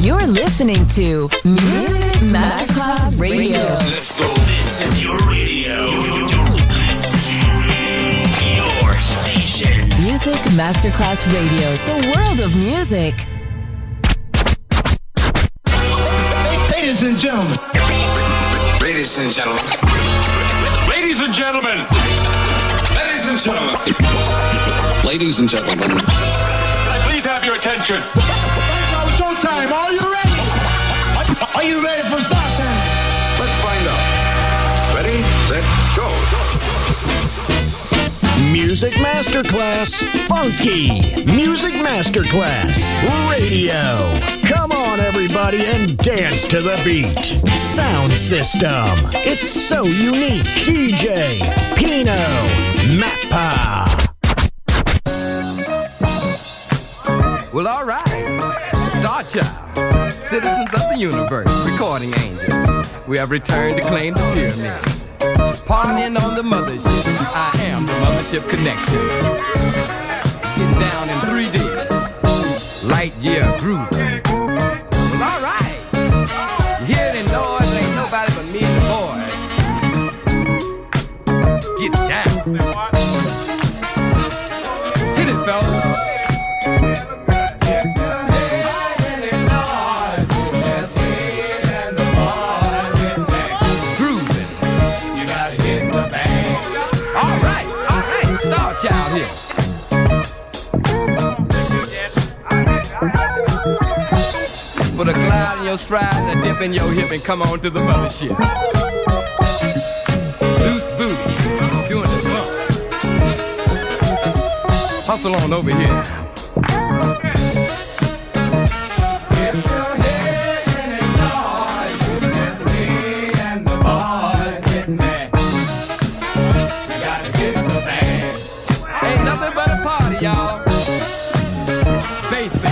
You're listening to Music Masterclass Radio. Let's go. This is your radio. Your station. Music Masterclass Radio. The world of music. Ladies and gentlemen. Ladies and gentlemen. Ladies and gentlemen. Ladies and gentlemen. Ladies and gentlemen. Can I please have your attention? Showtime. Are you ready? Are you ready for start time? Let's find out. Ready, set, go. Music Masterclass Funky. Music Masterclass Radio. Come on, everybody, and dance to the beat. Sound system. It's so unique. DJ Pino Mappa. Well, all right. Star Child, citizens of the universe, recording angels. We have returned to claim the pyramid. Partying on the mothership. I am the mothership connection. Getting down in 3D. Light year grooving. Well, all right. You hear the noise? Ain't nobody but me and the boys. Get down. Hit it, fellas. Child here. Put a glide in your stride and a dip in your hip and come on to the mothership. Loose booty, doing the bump. Hustle on over here. Y'all, basic.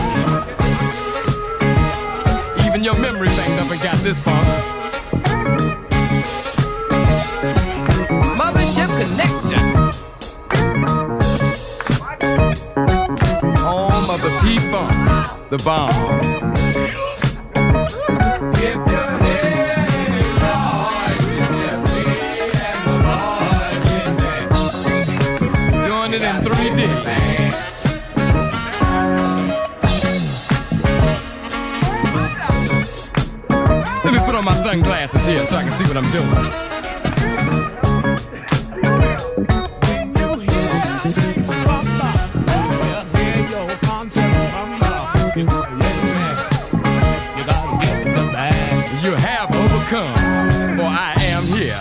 Even your memory bank never got this far. Mothership connection. Home of the P-Funk, the bomb. Doing it in 3D. Let me put on my sunglasses here so I can see what I'm doing. When you hear things from the hear your concept from the you gotta get in the bag. You have overcome, for I am here.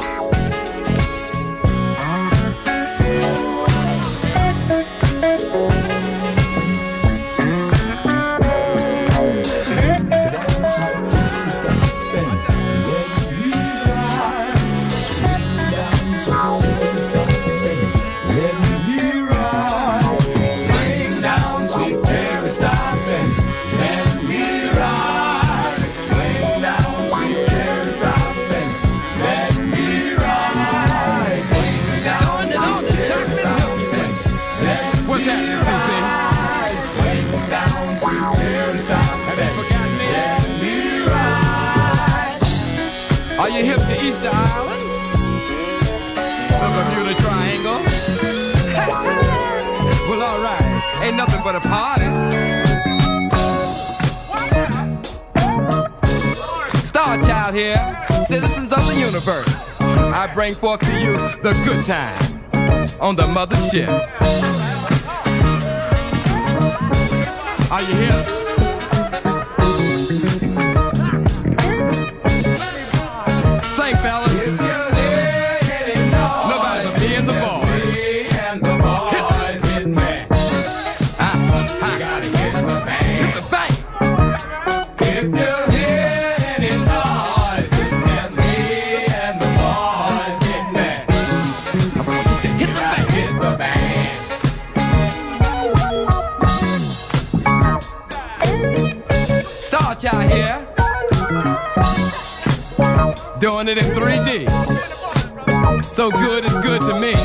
Are you hip to Easter Island? The Bermuda Triangle? Well, all right. Ain't nothing but a party. Star Child here, citizens of the universe. I bring forth to you the good time on the mothership. Are you here? Sing, fellas. Nobody but me and the boys. Hit me. I gotta hit the bank. Hit the bank. If you hear any noise, it's me and the boys. Hit me. I want you to hit the bank. Hit the bank. Star Child here. Doing it in 3D. So good, it's good to me.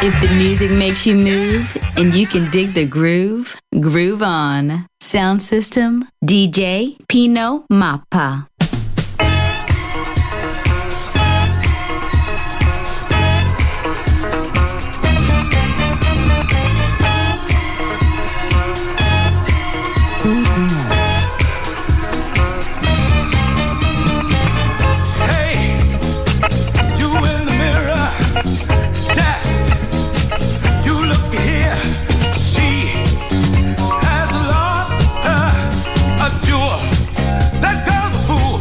If the music makes you move and you can dig the groove, groove on. Sound system, DJ Pino Mappa. That girl's a fool.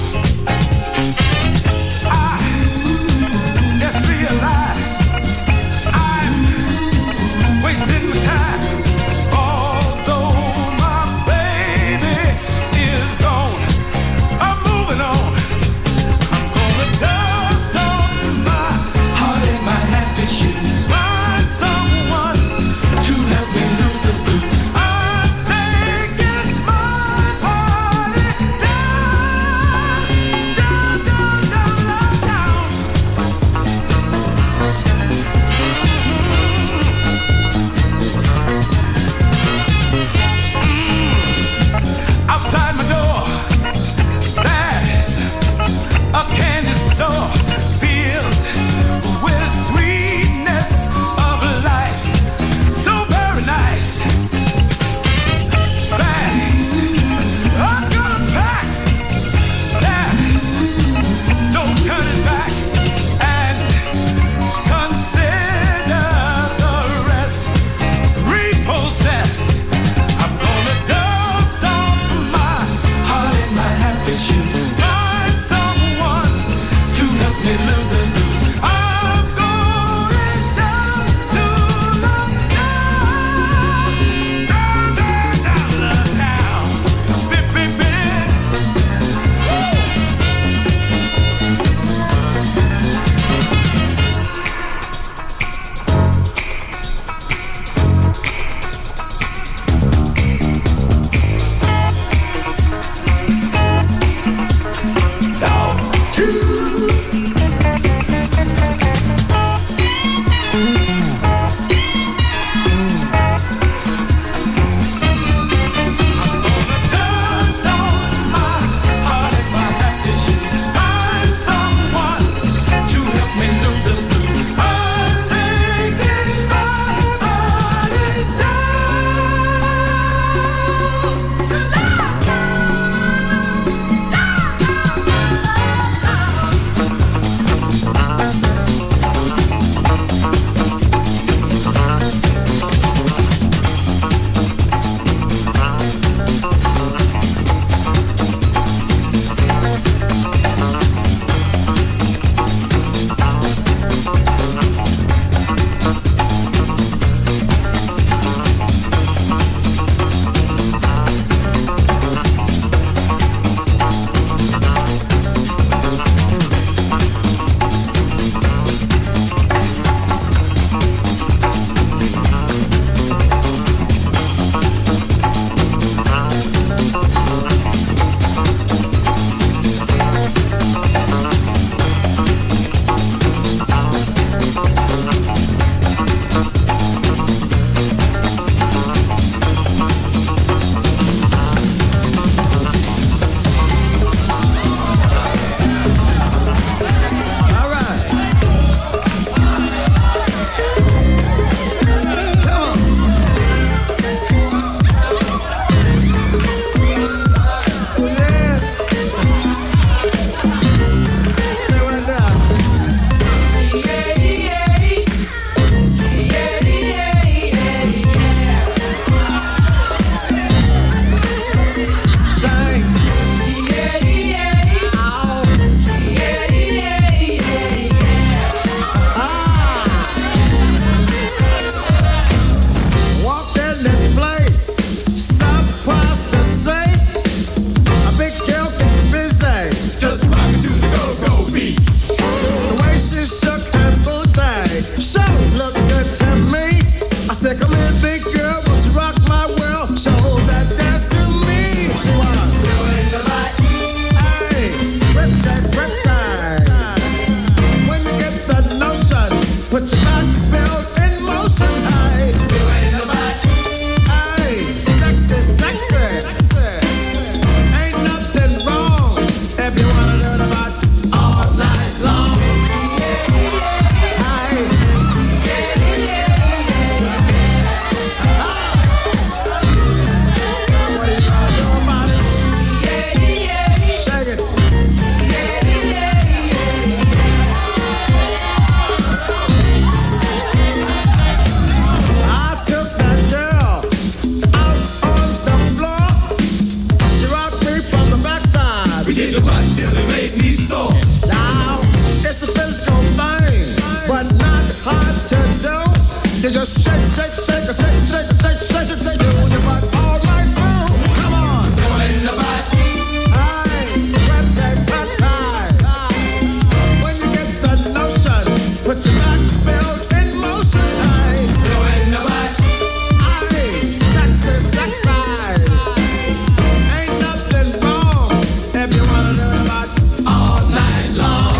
just shake, shake, shake, shake, shake, shake, shake, shake, shake your butt all night long. Come on, doing the butt. Aye, wet tight, wet tight. When you get the lotion, put your back belt in motion. Aye, doing the butt. Aye, sexy, sexy. Ain't nothing wrong if you wanna do the butt all night long.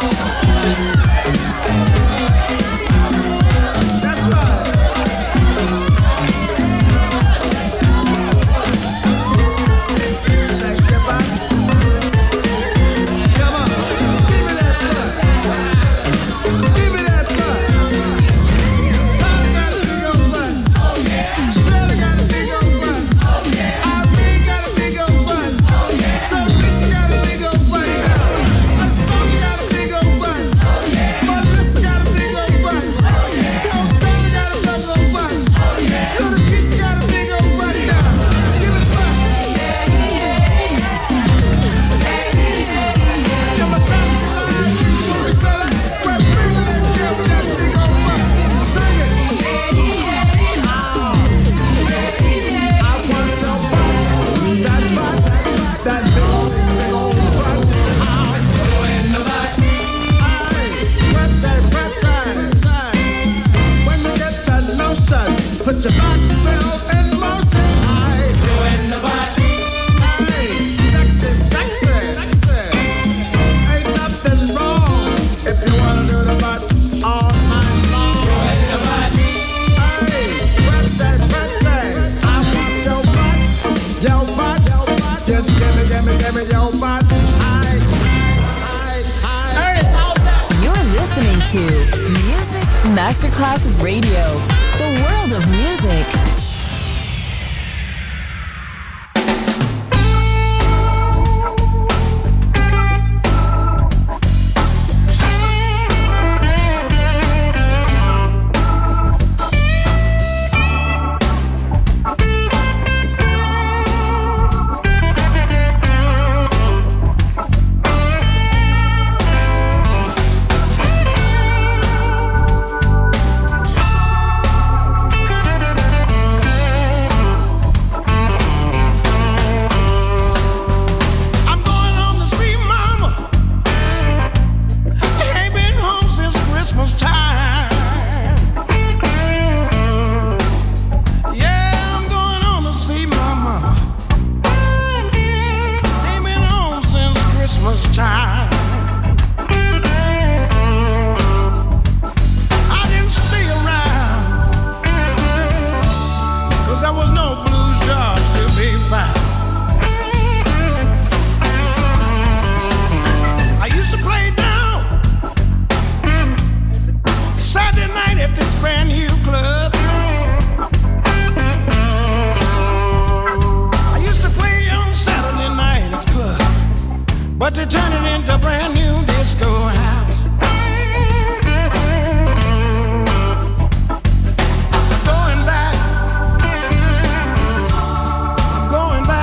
That's right. Shake your butt. Come on, give me that butt. Give me that butt. Tommy got a big old butt. Shirley got a big old butt. Irene got a big old butt. Teresa got a big old butt. Sonny got a big old butt. Melissa got a big old butt. Taylor got a big old butt. Little Keisha got a big old butt. Give it back. Give my time to lie. We say that. We're bringing that girl with that big old butt. Sing it. I want your butt. That butt. That big old butt. Doing the butt. Aye. Wet tight, wet tight. When you get that lotion, put your back belt in motion. Aye. Doing the butt. Aye. Sexy, sexy. Ain't nothing wrong if you wanna do the butt all night long. Doing the butt. Aye. Wet tight, wet tight. I want your butt. Your butt. Just give me your butt. Aye. You're listening to Music Masterclass Radio, the world of music. I'm going home to see Mama. Ain't been home since Christmas time. Yeah, I'm going home to see Mama. Ain't been home since Christmas time. I didn't stay around 'cause there was no blues jobs to be found. I used to play down Saturday night at this brand new club. I used to play on Saturday night at the club, but they turned it into a brand new disco house. Going back. I'm going back.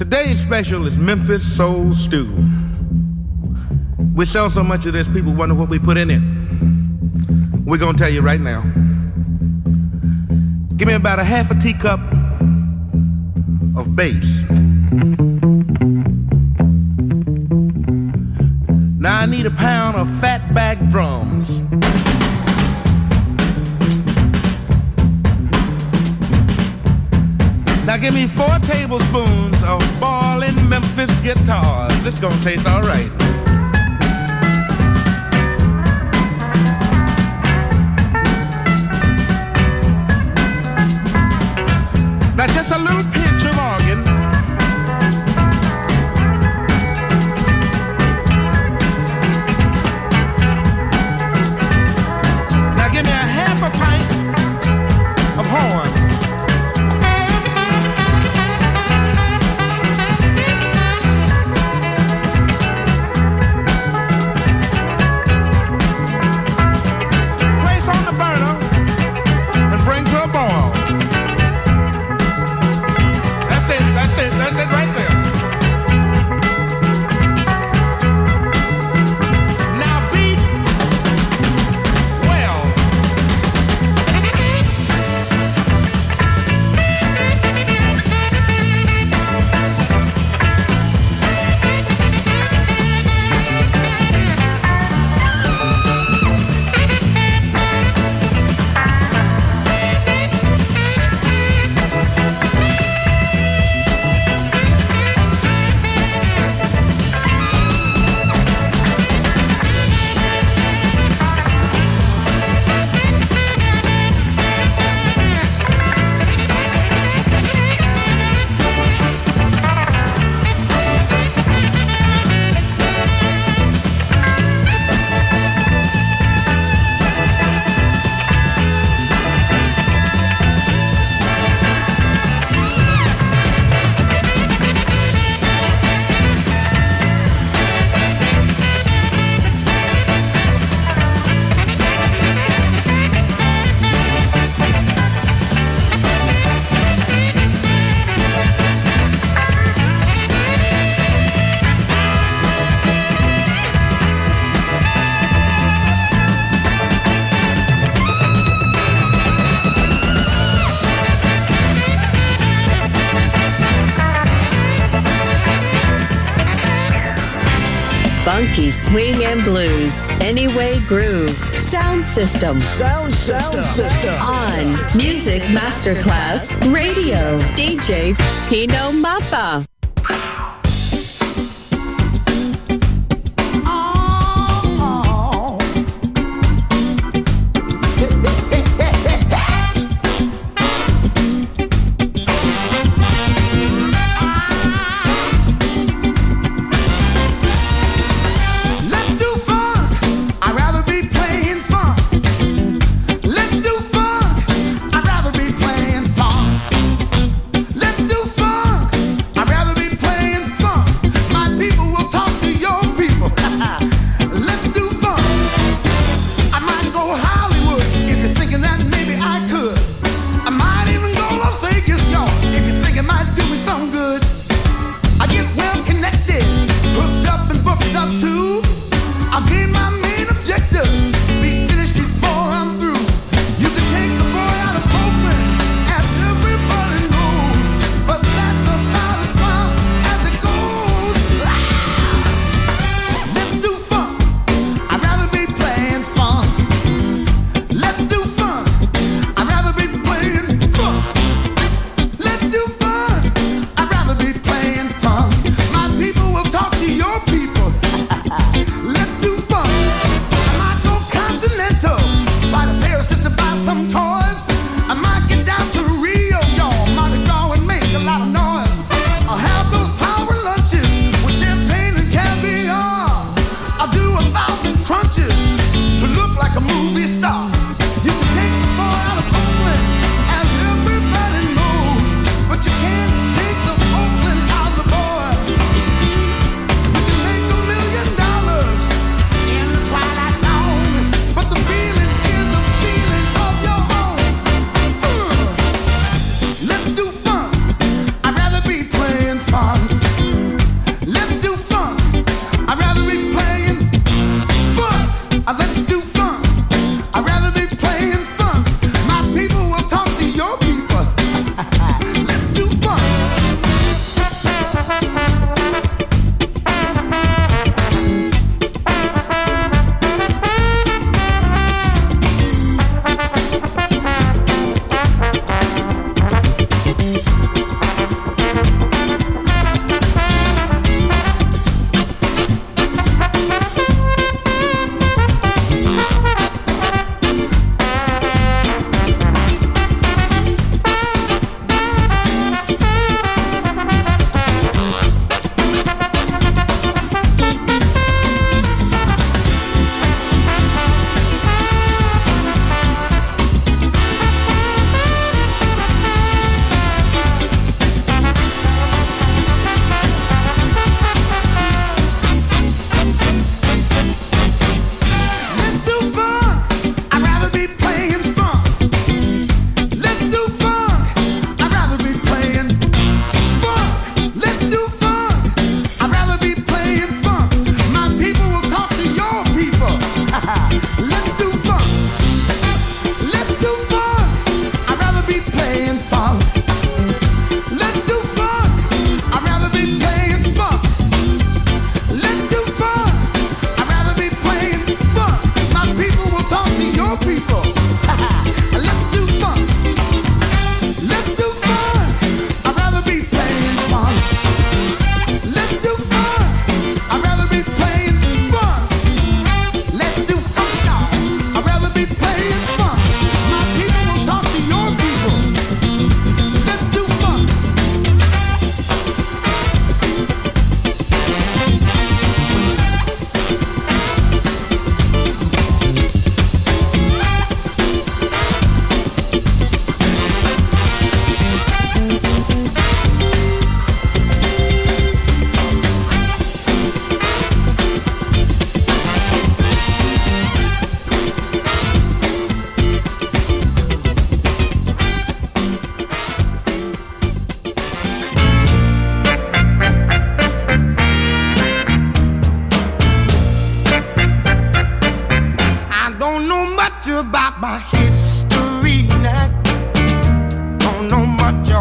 Today's special is Memphis Soul Stew. We sell so much of this, people wonder what we put in it. We're gonna tell you right now. Give me about a half a teacup of bass. Now I need a pound of fatback drums. Now give me 4 tablespoons of ballin' Memphis guitars. This gonna taste all right. Now just a little pinch of organ. Now give me a half a pint of horn. Place on the burner and bring to a boil. That's it right there. Now beat well. Funky swing and blues, Anyway Groove, Sound System. Sound system. On Music Masterclass Radio, DJ Pino Mappa.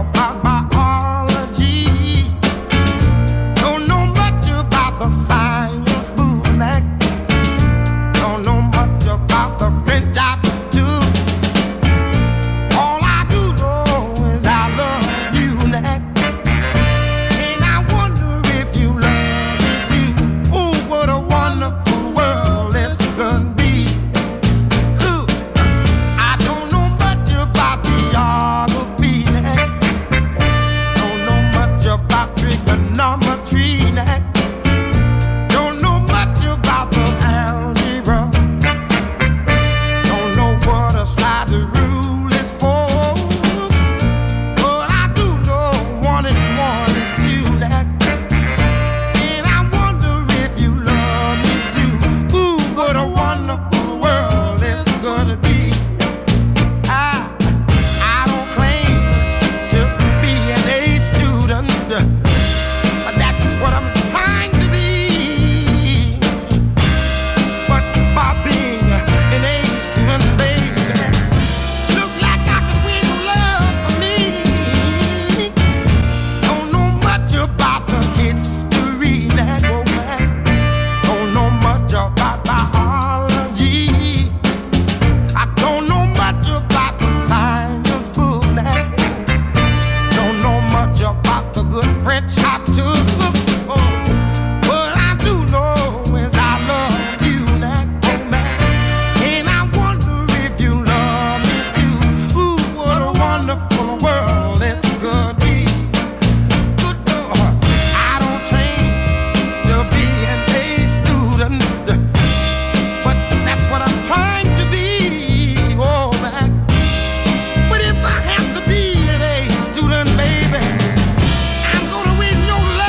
about biology. Don't know much about the science bootleg. Don't know much about the French aptitude. All I do know is I love you, Nack. And I wonder if you love me too. Oh, what a wonderful world this could be. Ooh, I don't know much about geography, Nack. Don't know much about trigonometry, Nack. Don't know much about the algebra. Don't know what a slider rule is for. But I do know 1 and 1 is 2, Nack. And I wonder if you love me too. Ooh, what a wonderful world this gonna be. I don't claim to be an A student, but that's what I'm trying to be. But by being an A student, baby, look like I could win your love for me. Don't know much about the history, that go back. Don't know much about biology. I don't know much about the science book, that. Don't know much about the good French I took. What I do know is I love you, Nack, oh man. And I wonder if you love me too. Ooh, what a wonderful world this could be. Good Lord, I don't train to be an A student, but that's what I'm trying to be, oh man. But if I have to be an A student, baby, I'm gonna win your love.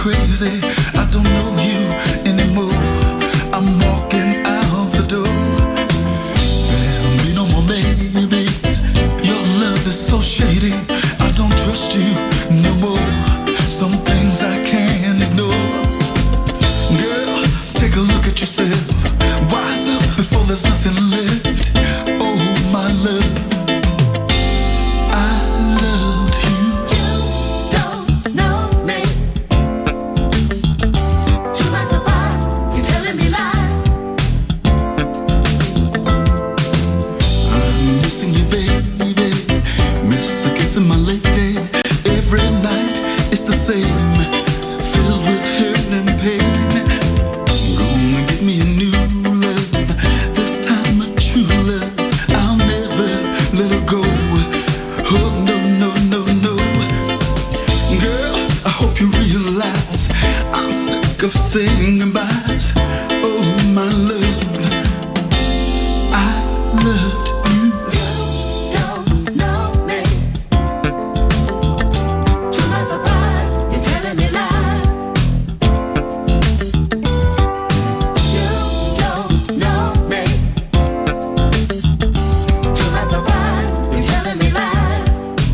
crazy. I don't know you anymore. I'm walking out the door. There'll be no more babies. Your love is so shady. I don't trust you no more. Some things I can't ignore. Girl, take a look at yourself. Wise up before there's nothing left. Oh, my love. Of saying goodbyes. Oh, my love, I loved you. You don't know me. To my surprise, you're telling me lies. You don't know me. To my surprise, you're telling me lies.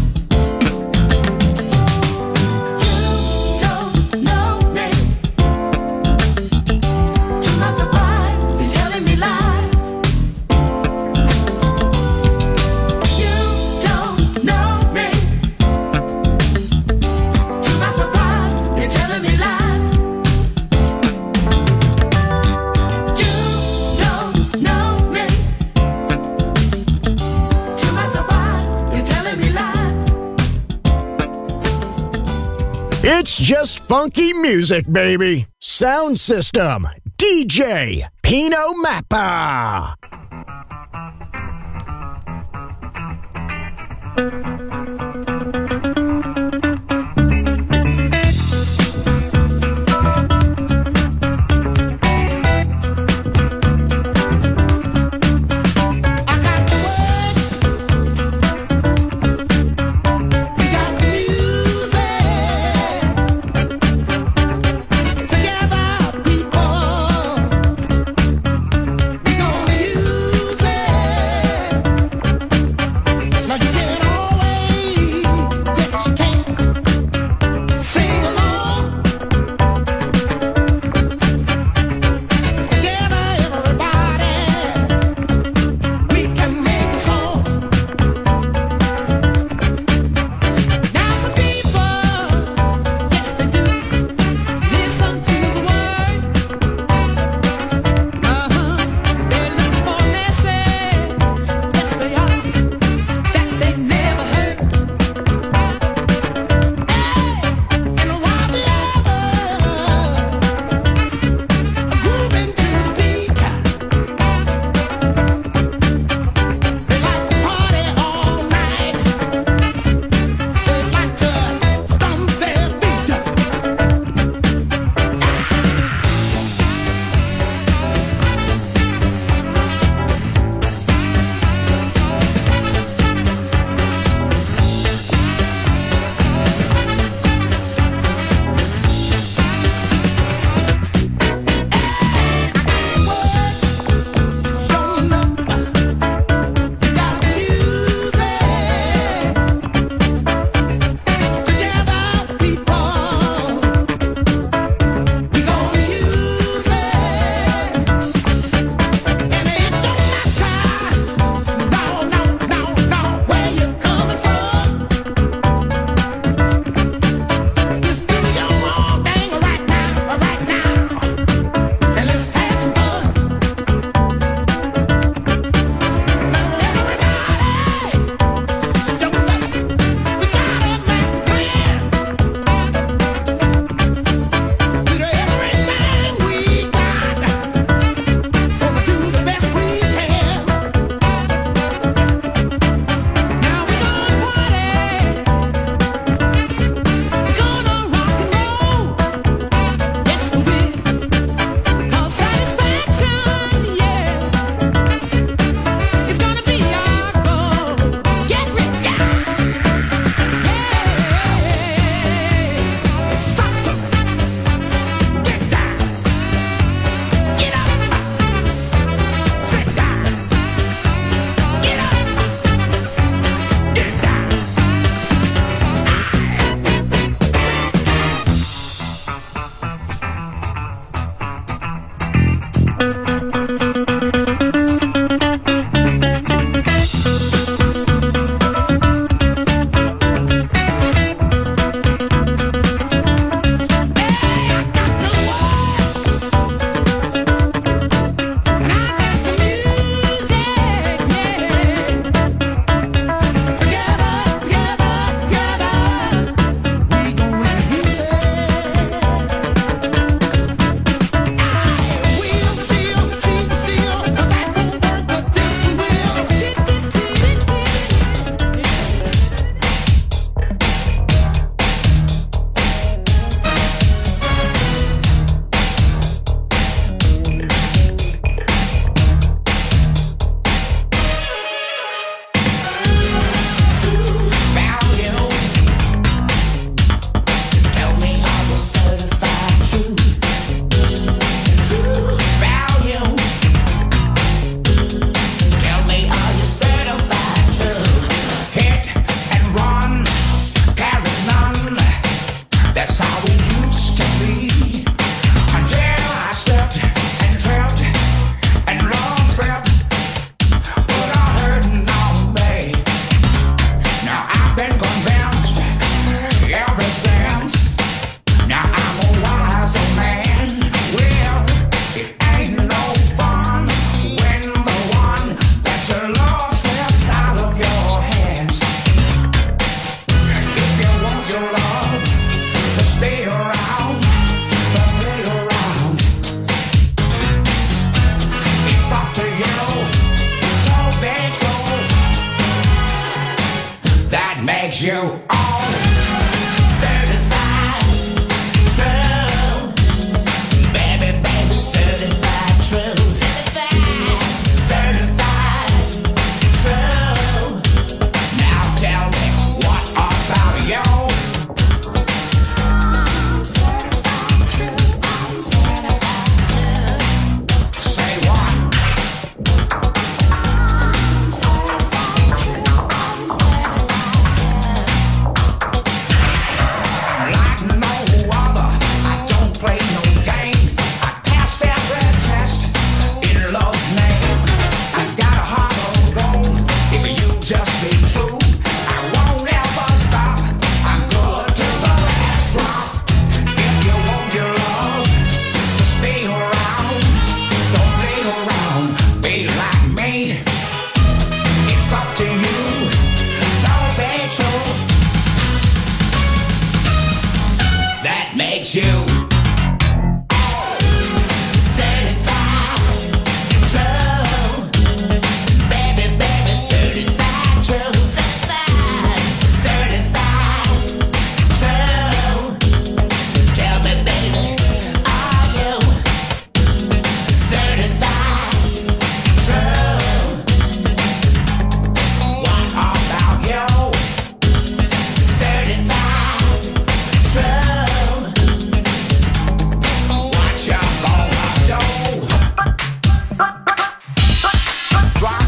You don't know me. It's just funky music, baby. Sound System, DJ Pino Mappa. Now you can't always you all certified true. Baby, baby, certified true. Certified true. Now tell me, what about you? I'm certified true. I'm certified true. Say what? I'm certified true. I'm certified true. Like no other, I don't play no games. I passed every test in love's name. I got a heart of gold. If you just be true, I won't ever stop. I'm good to the last drop. If you want your love, just be around. Don't play around. Be like me. It's up to you. Don't be true. That makes you certified true. Baby, baby, certified true. Certified true. Tell me, baby, are you certified true? What about you? Certified true. What you gonna do? Drop.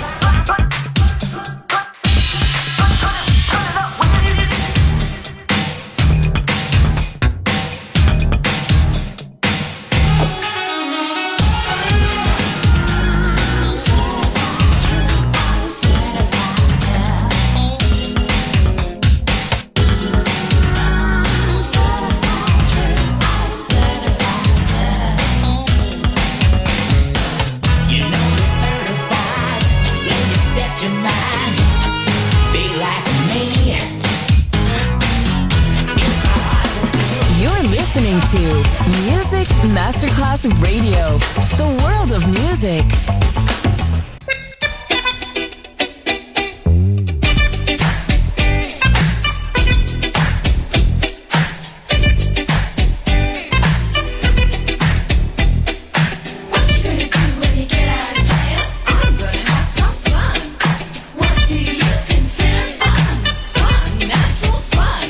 You know you're certified when you set your mind. Be like me. It's hard to do. You're listening to Music Masterclass Radio, the world of music. What you gonna do when you get out of jail? I'm gonna have some fun. What do you consider fun? Fun, natural fun.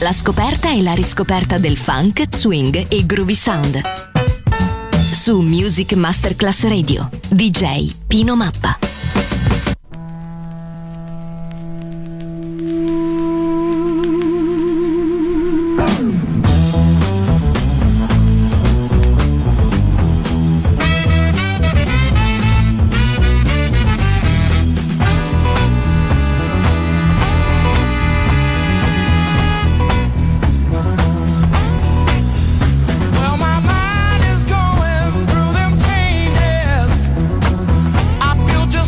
La scoperta e la riscoperta del funk, swing e groovy sound. Su Music Masterclass Radio, DJ Pino Mappa. Well, my mind is going through them changes. I feel just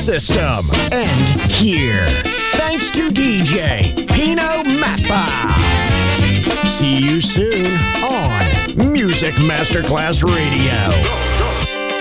system end here. Thanks to DJ Pino Mappa. See you soon on Music Masterclass Radio.